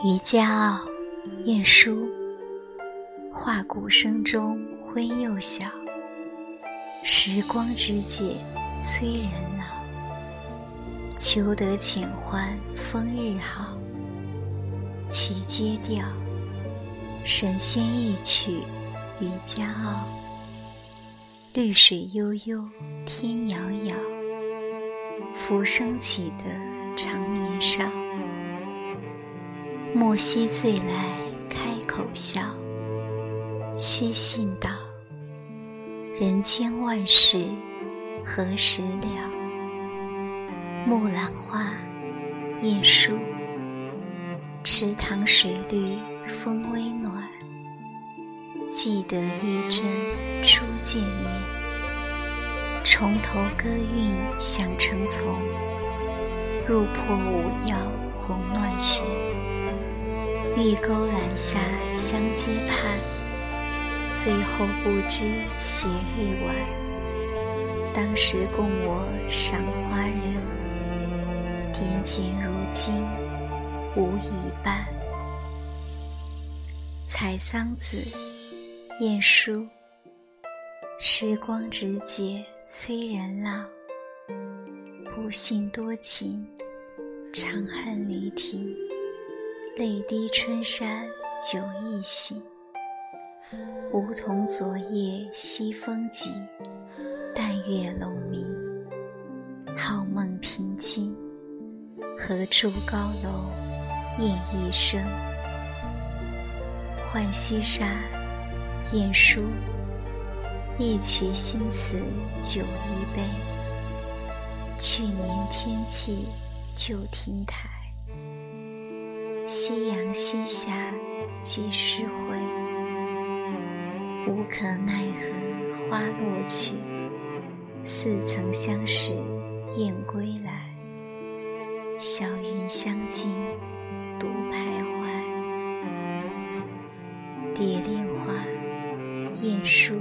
渔家傲，晏殊。画鼓声中昏又晓，时光之节催人老。求得浅欢风日好，其阶调，神仙一曲渔家傲。绿水悠悠天遥遥，浮生起得长年少。莫惜醉来开口笑，须信道，人间万事何时了。木兰花，晏殊。池塘水绿风微暖，记得玉珍初见面。重头歌韵响成丛，入破五曜红乱旋。玉钩栏下相接盼，最后不知斜日晚。当时共我赏花人，点检如今无一半。采桑子，晏殊。时光之节催人老，不信多情，长恨离题。泪滴春山酒意醒，梧桐昨夜西风急。淡月笼明，好梦平静。何处高楼雁一声。浣溪沙，晏殊。一曲新词酒一杯，去年天气旧亭台。夕阳西下几时回？无可奈何花落去，似曾相识燕归来。小云相近独徘徊。蝶恋花，晏殊。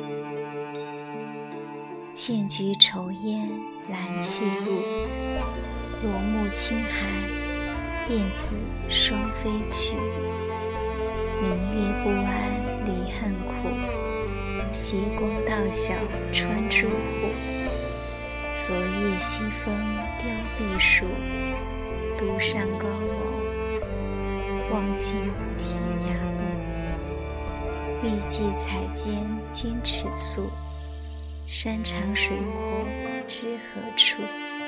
剑菊愁烟兰气露，罗幕轻寒燕子双飞去。明月不安离恨苦，斜光到晓穿朱户。昨夜西风凋碧树，独上高楼，望尽天涯路。欲寄彩笺兼尺素，山长水阔知何处。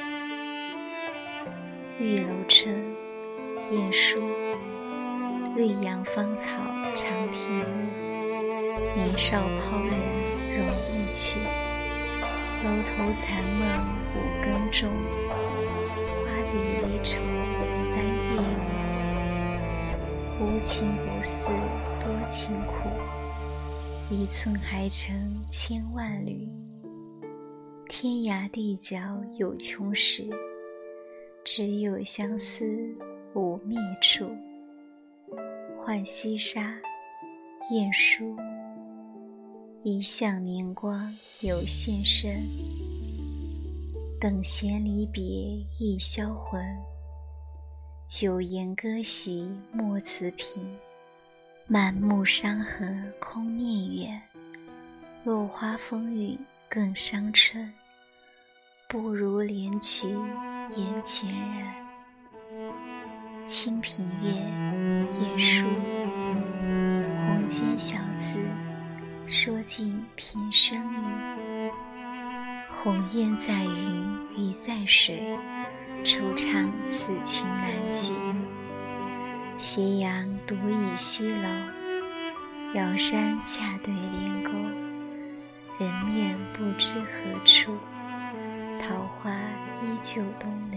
玉楼春，晏殊。绿杨芳草长天路，年少抛人容易去。楼头残梦五更钟，花底离愁三月雨。无情不似多情苦，一寸还成千万缕。天涯地角有穷时，只有相思无灭处。浣溪沙，晏殊。一向年光有限身，等闲离别易销魂。久言歌席莫辞频，满目山河空念远。落花风雨更伤春，不如怜取眼前人。清平乐，晏殊。红笺小字，说尽平生意。鸿雁在云鱼在水，惆怅此情难解。斜阳独倚西楼，遥山恰对连沟。人面不知何处，桃花依旧东流。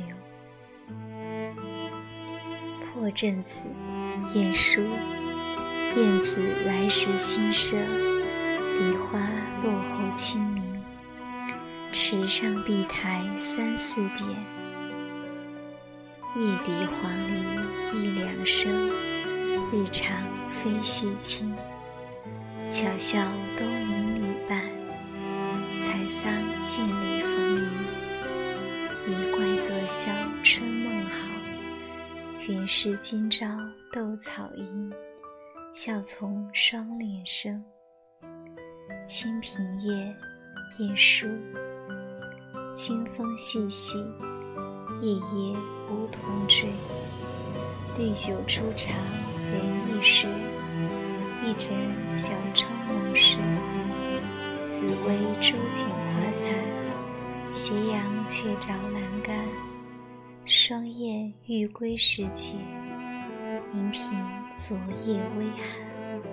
破阵子，晏殊。燕子来时新社，梨花落后清明。池上碧苔三四点，夜笛黄鹂一两声。日长飞须轻，巧笑东邻女伴。采桑见里逢迎，一怪作笑春梦好。原是今朝斗草音，笑从双脸生。清平乐，晏殊。清风细细，夜夜梧桐坠。绿酒初尝人易睡，一枕小窗梦深。紫薇洲间花残，斜阳却照阑干。霜雁欲归时节，银屏昨夜微寒。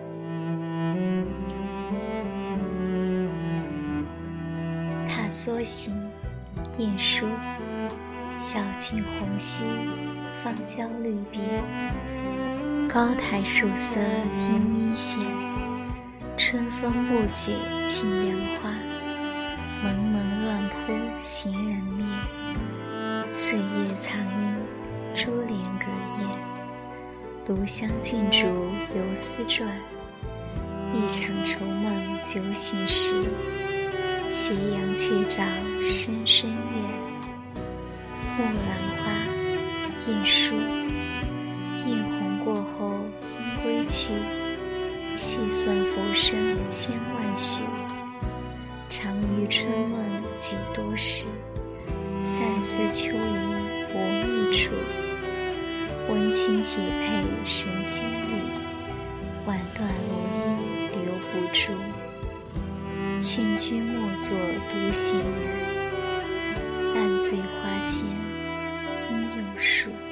踏梭行，晏殊。晓镜红稀，芳郊绿碧。高台树色阴阴闲，春风不解近杨花。蒙蒙乱扑行人面，翠叶苍鹰，珠帘隔燕。炉香尽烛游丝转，一场愁梦酒醒时。斜阳却照深深院。木兰花，晏殊。映红过后应归去，细算浮生千万许。长于春梦几多时，散似秋云无觅处。温情解配神仙侣，婉断如意留不住。劝君莫作独行人，烂醉花间应有数。